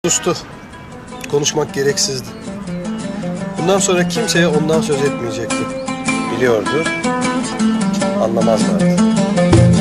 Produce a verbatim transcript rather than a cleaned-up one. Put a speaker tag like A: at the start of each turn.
A: Sustu. Konuşmak gereksizdi. Bundan sonra kimseye ondan söz etmeyecekti. Biliyordu. Anlamazlardı.